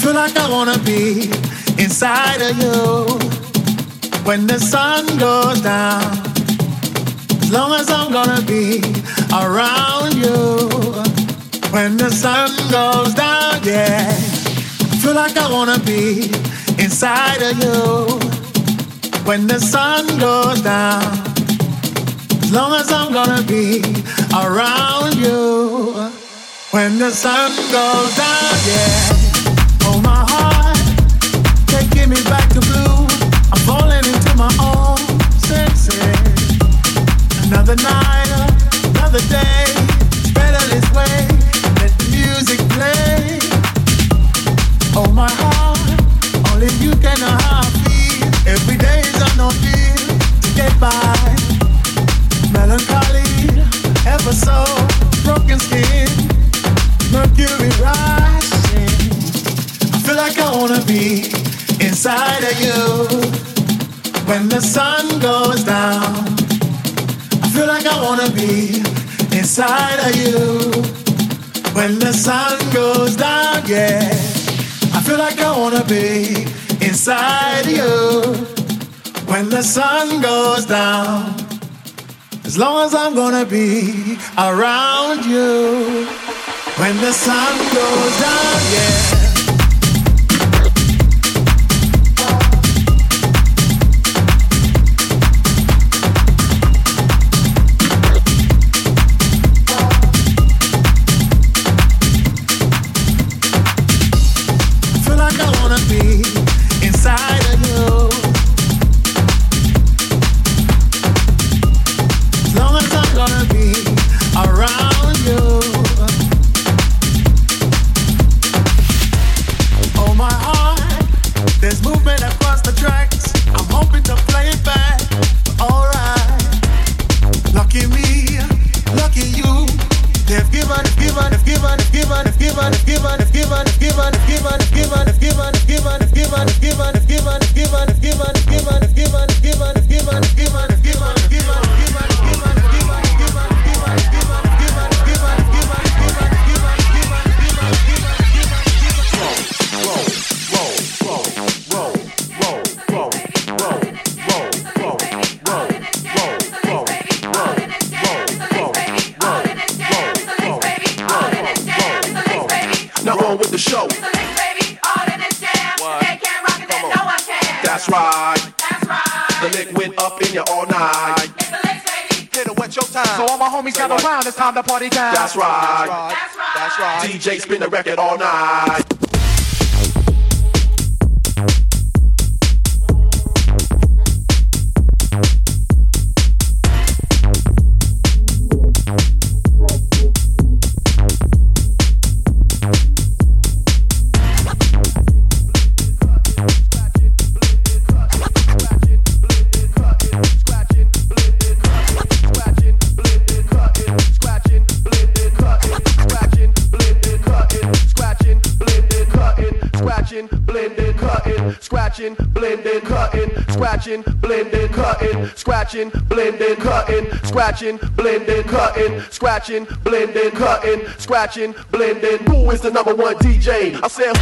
feel like I wanna be inside of you when the sun goes down. As long as I'm gonna be around you when the sun goes down, yeah. I feel like I wanna be inside of you when the sun goes down. As long as I'm gonna be around you when the sun goes down, yeah. Oh, my heart, taking me back to blue. I'm falling into my own senses. Another night, another day. It's better this way. Let the music play. Oh, my heart, only you can know how I feel. Every day is on no feel to get by. Melancholy, ever so broken skin, mercury rising. I feel like I wanna be inside of you when the sun goes down. I feel like I wanna be inside of you when the sun goes down, yeah. I feel like I wanna be inside of you when the sun goes down. As long as I'm gonna be around you when the sun goes down, yeah. It's time to party time. That's right. That's right. DJ spin the record all night. Scratching, blending, cutting, scratching, blending, cutting, scratching, blending, cutting, scratching, blending. Who is the number one DJ? I said.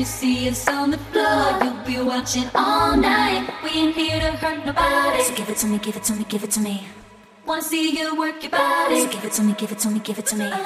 see us on the floor, you'll be watching all night. We ain't here to hurt nobody. So give it to me, give it to me, give it to me. Wanna see you work your body. So give it to me, give it to me, give it to me.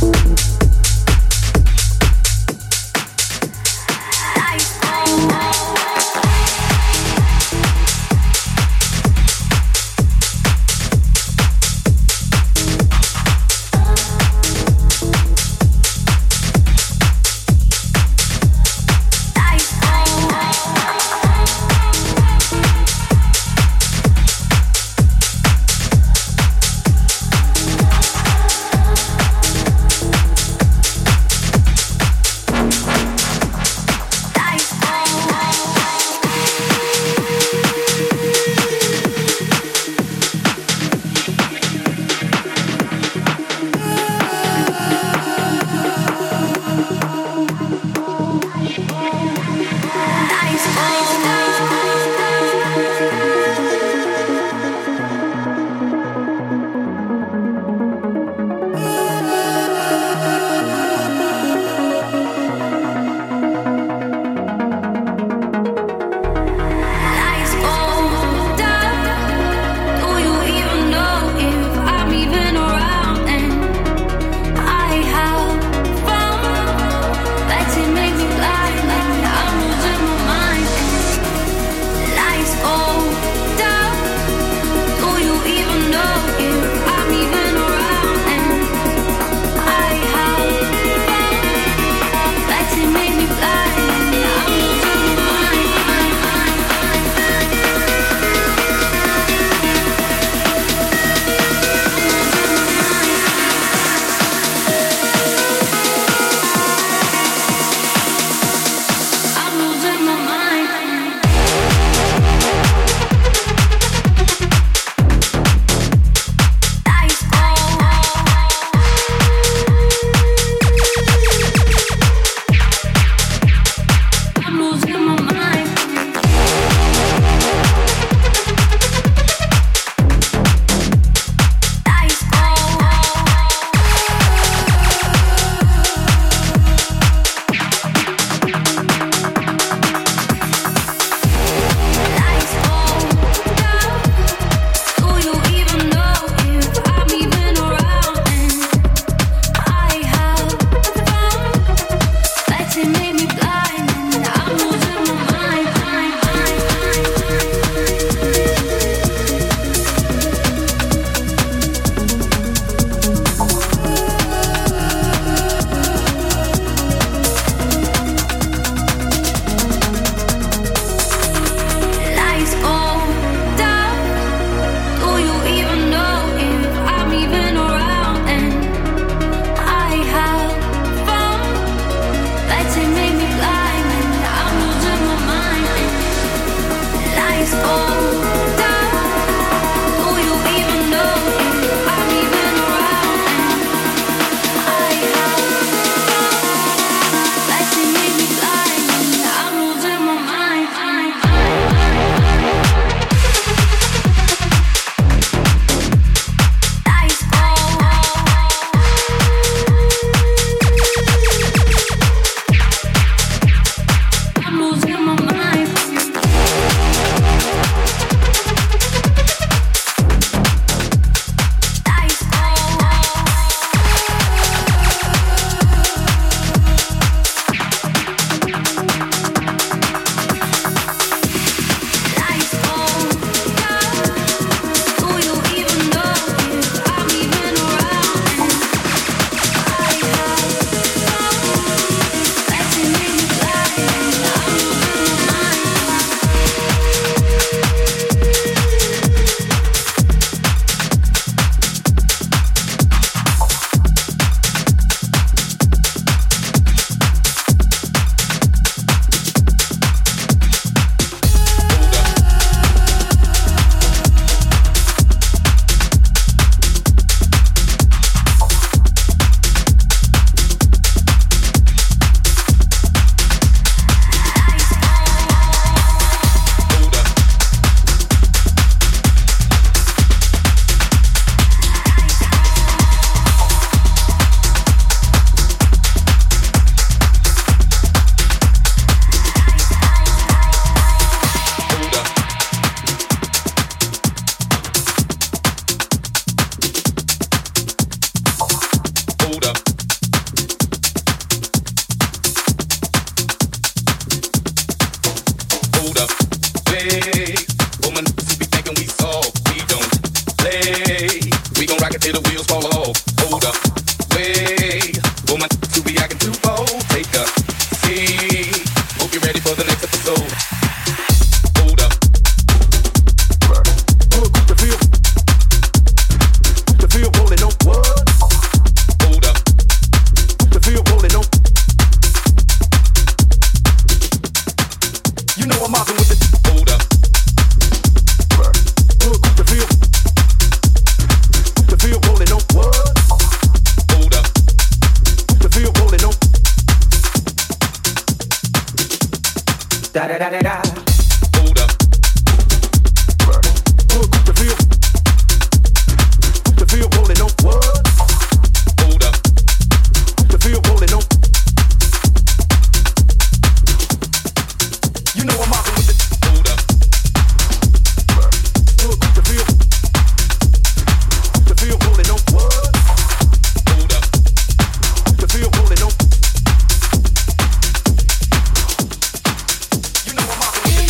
Oh, Da da da da da. Hold up. Cook the feel. Cook the feel rolling on. What? Hold up. Cook the feel rolling on. You know I'm mobbing with it. Hold up. Cook the feel. Cook the feel rolling on. What? Hold up. Cook the feel rolling on. You know I'm mobbing with it.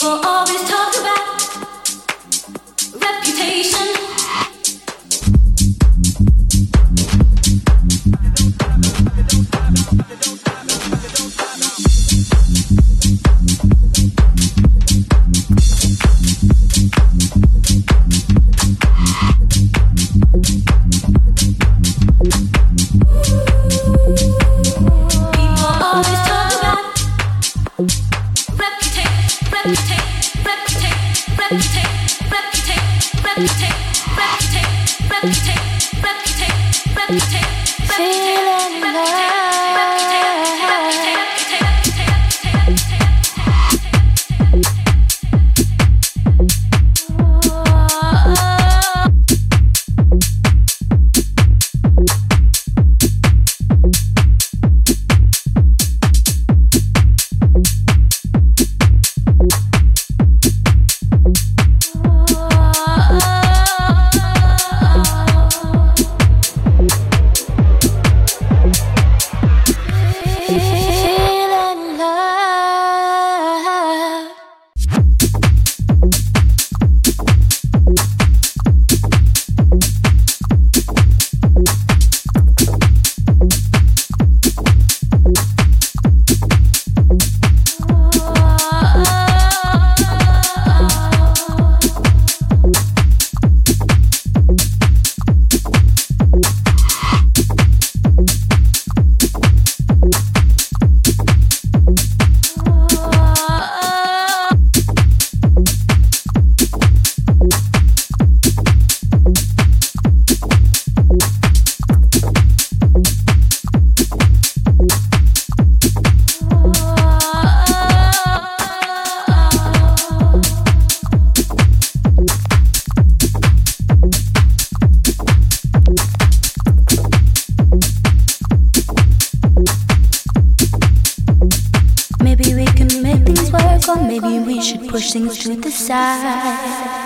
push things to the side.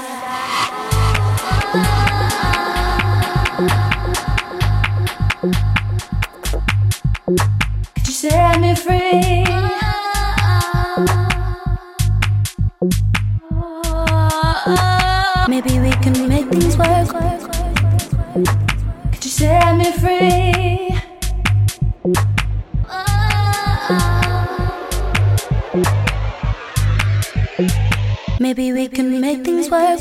Could you set me free? Maybe we can make things work. Could you set me free? Maybe we can make things work.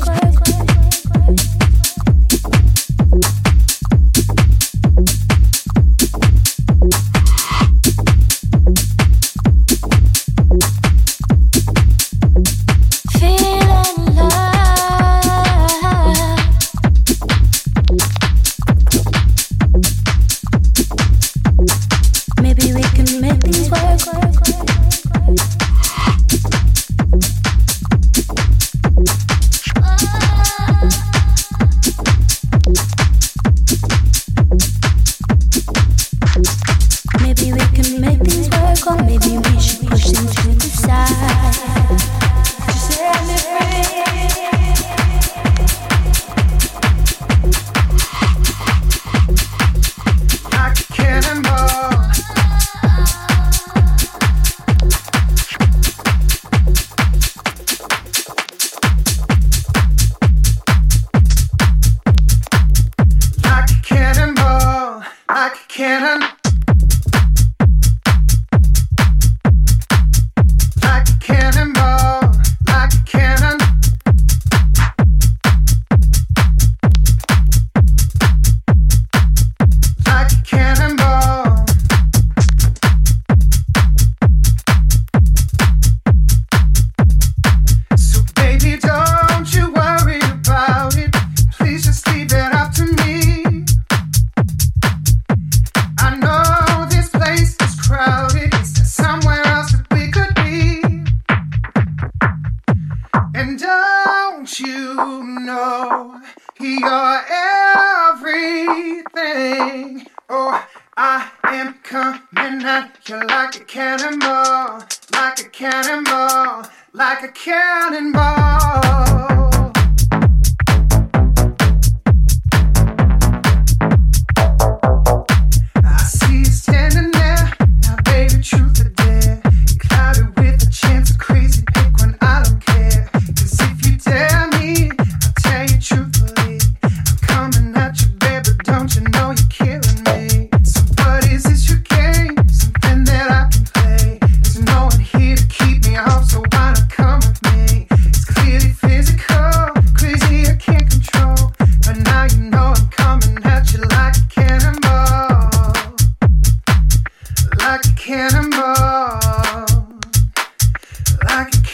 Truth or dare, you clouded with a chance of crazy pick when I don't care.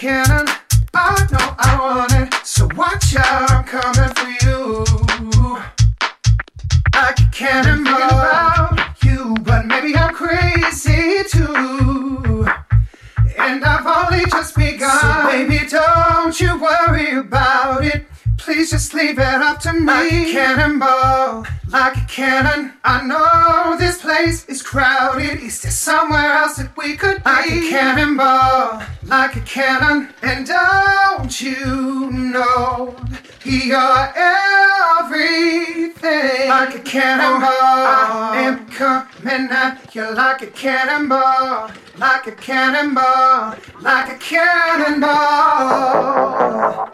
cannon. I know I want it, so watch out, I'm coming for you. Like a cannonball about you, but maybe I'm crazy too. And I've only just begun. So baby, don't you worry about it. Please just leave it up to me. Like a cannonball, like a cannon. I know this place is crowded. Is there somewhere else that we could be? Like a cannonball, like a cannon. And don't you know you're everything? Like a cannonball, I am coming at you like a cannonball. Like a cannonball, like a cannonball.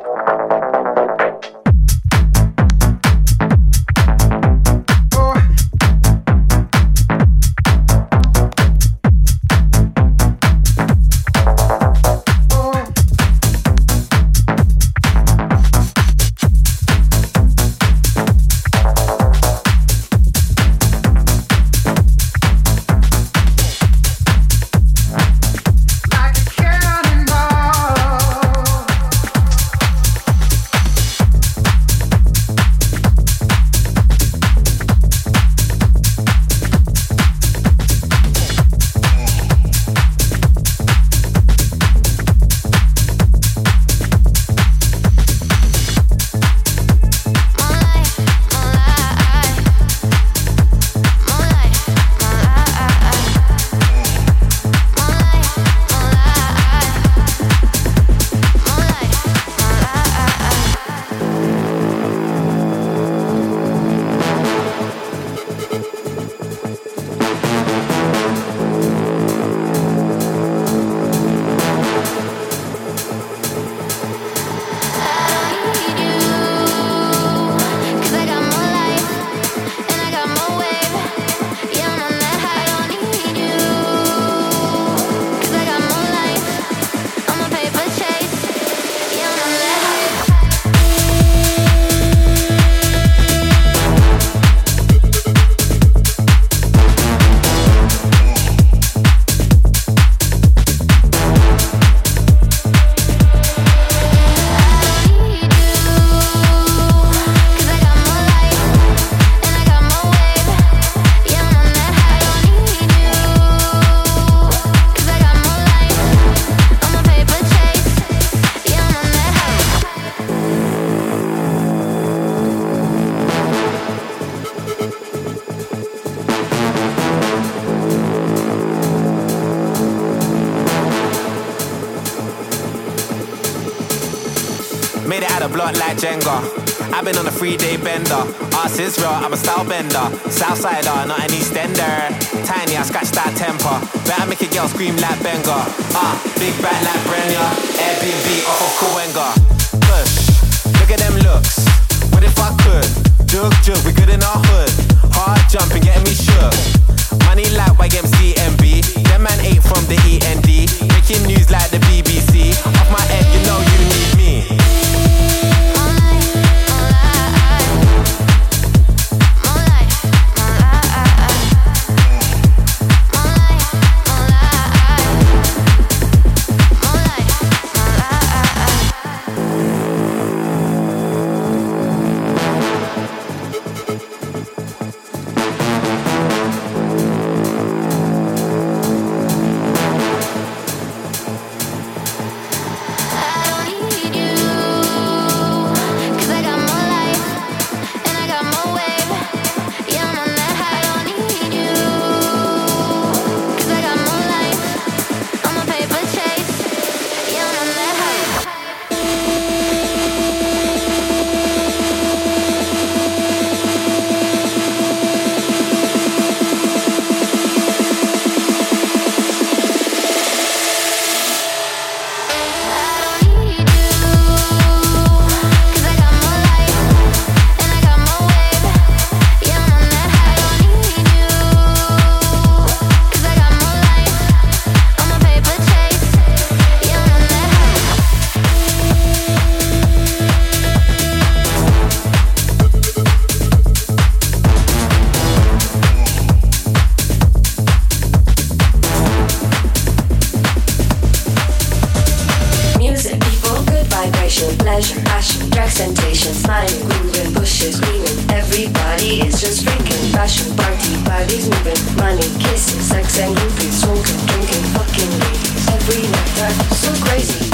Like Jenga, I've been on a 3-day bender. Arse is real, I'm a style bender. Southsider, not an Eastender. Tiny, I scratch that temper. Better make a girl scream like Benga. Big back like Brenya. Airbnb off of Kawenga. Push, look at them looks. What if I could? Jug, we good in our hood. Hard jumping, getting me shook. Money like YMCMB. Them man ate from the END. Making news like the BBC. Off my head, you know you need me. vibration, pleasure, passion, drugs, temptation, smiling, grooving, bushes, screaming. Everybody is just freaking. Passion, party, bodies moving. Money, kissing, sex and groupies, smoking, drinking, fucking ladies. Every night, that's so crazy.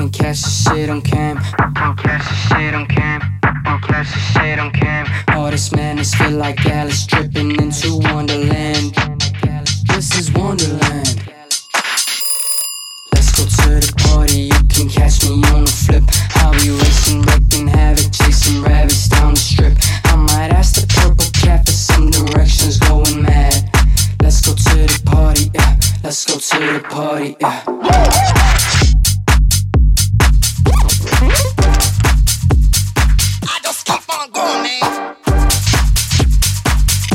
can't catch the shit on cam. Can't catch the shit on cam. Can't catch the shit on cam. All this madness feel like Alice dripping into Wonderland. This is Wonderland. Let's go to the party. You can catch me on the flip. I'll be racing, wrecking havoc, chasing rabbits down the strip. I might ask the purple cat for some directions, going mad. Let's go to the party, yeah. Let's go to the party, yeah. I just keep on going, man.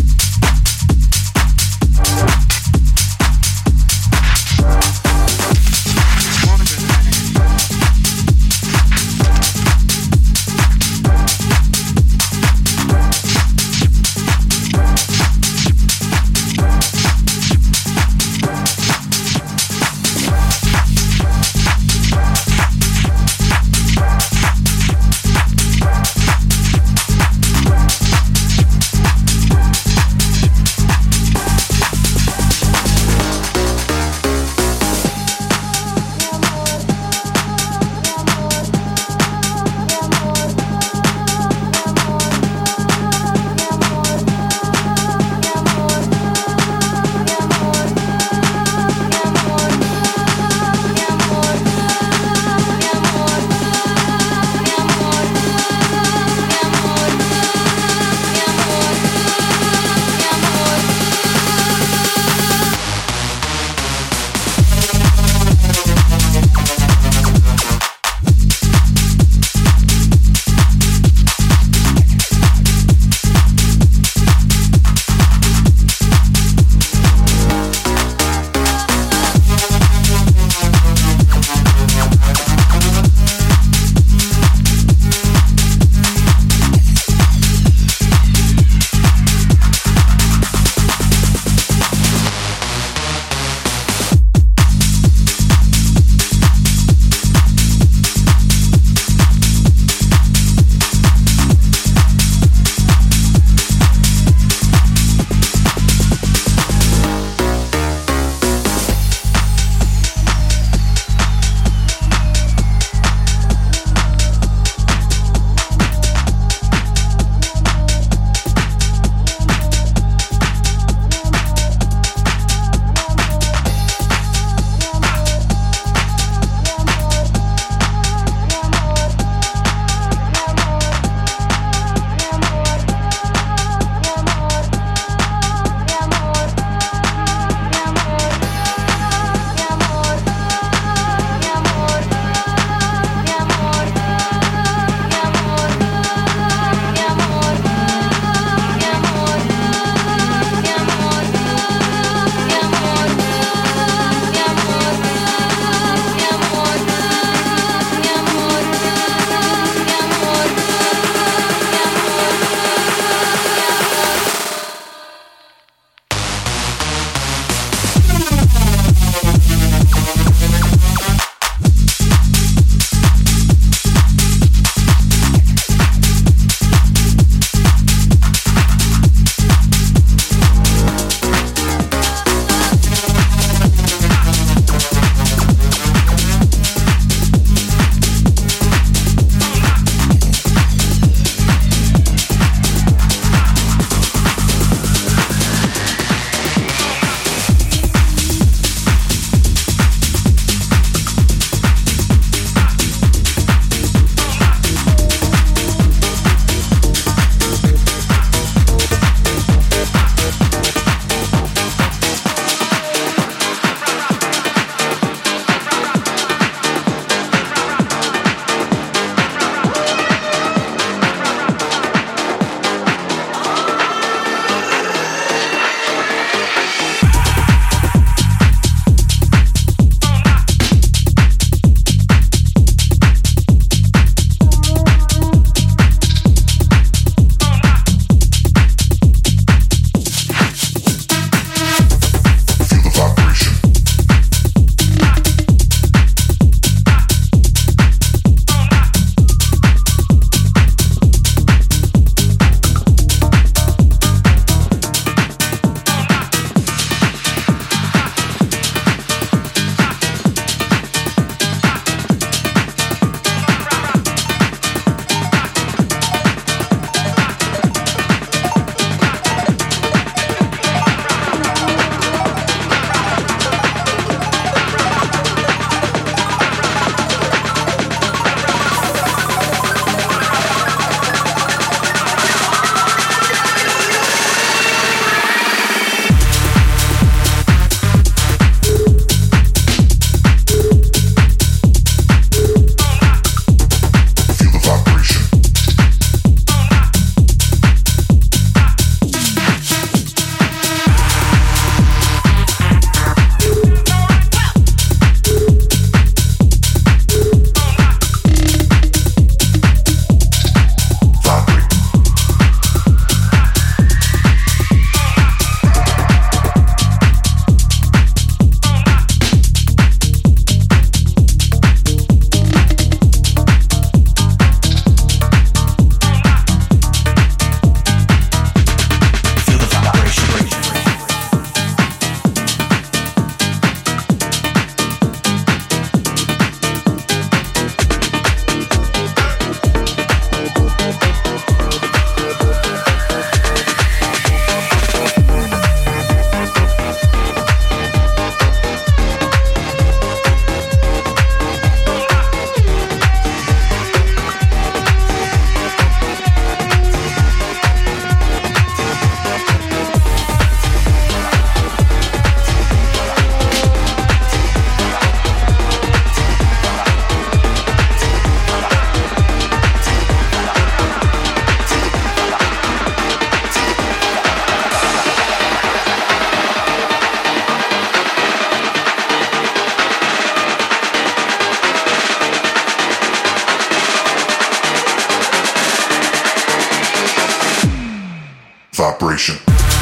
vibration.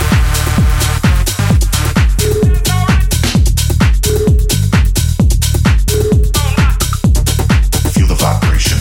Feel the vibration.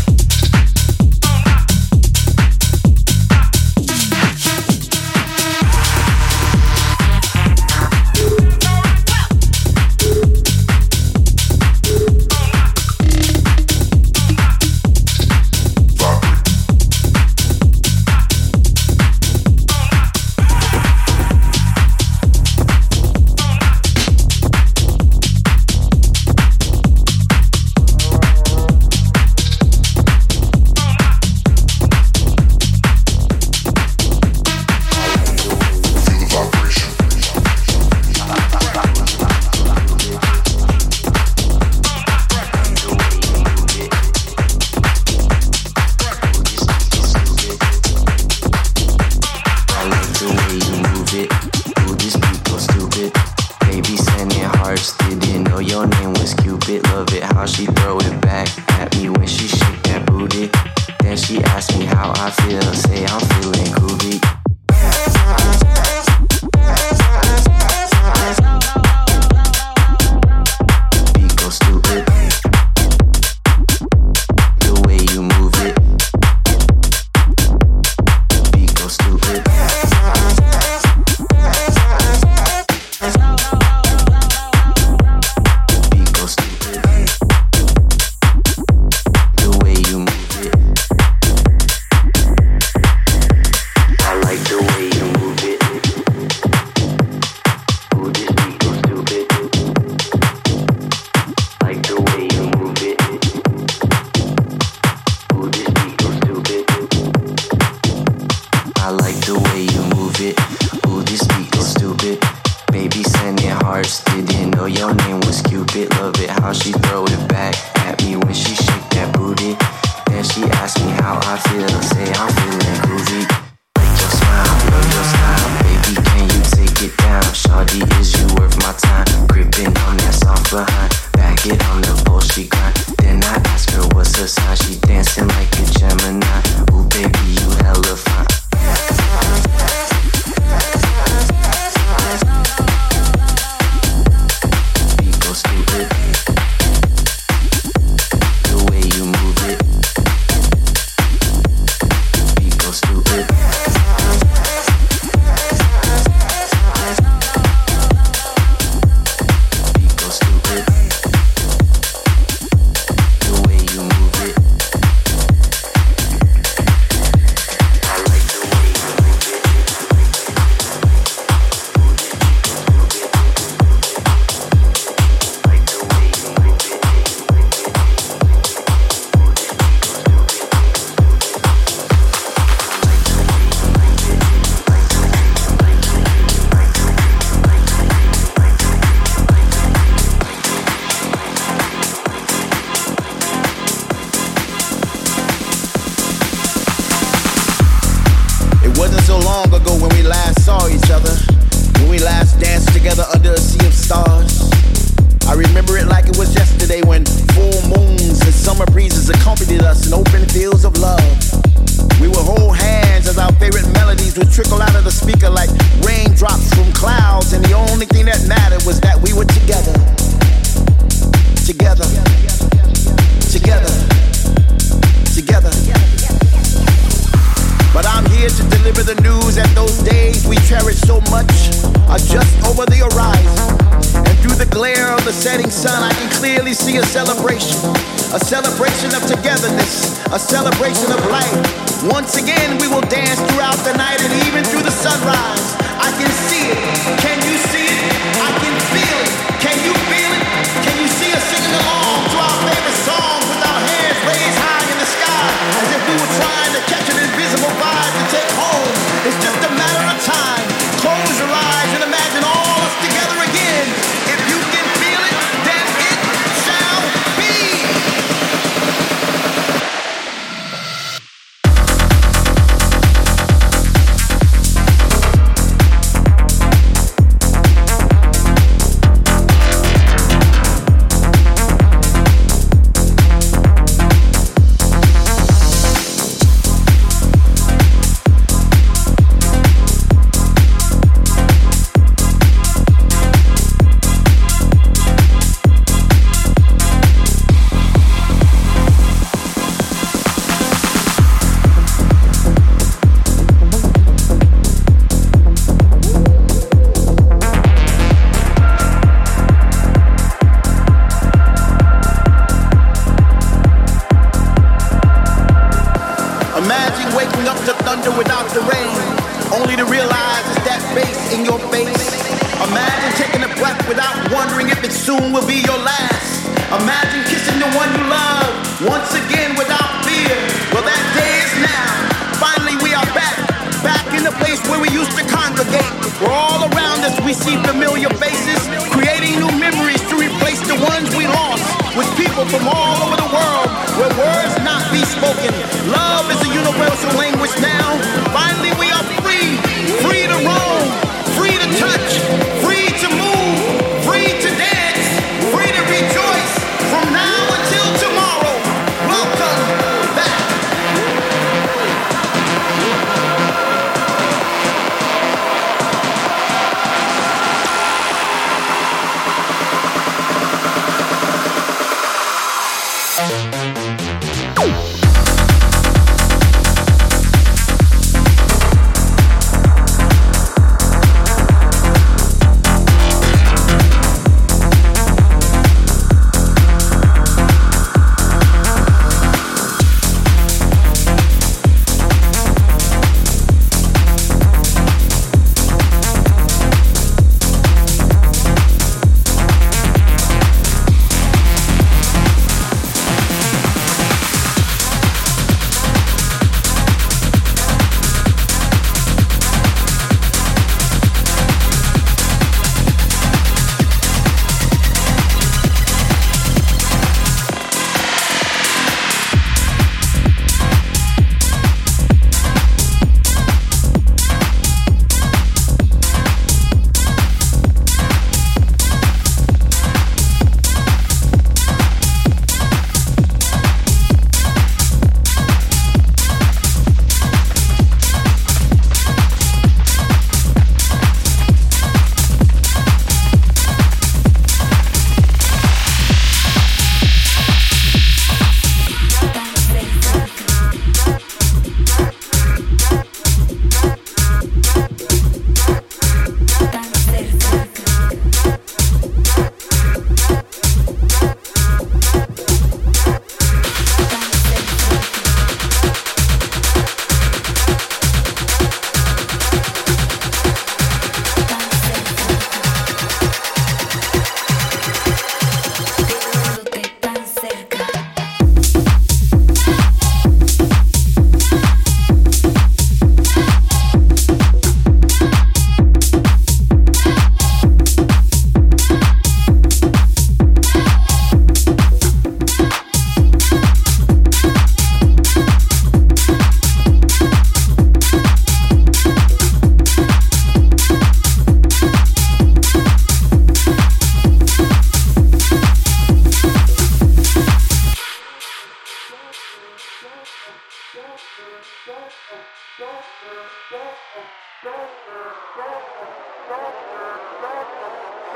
thunder without the rain, only to realize it's that bass in your face. Imagine taking a breath without wondering if it soon will be your last. Imagine kissing the one you love once again without fear. Well, that day is now. Finally we are back in the place where we used to congregate. Where all around us we see familiar faces, creating new memories to replace the ones we lost. With people from all over the world, where words not be spoken. Love is a universal language now. Finally we are free, free to roam, free to touch, free to move, free to dance, free to rejoice. From now until tomorrow, welcome back.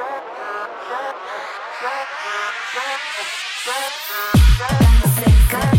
Cerca.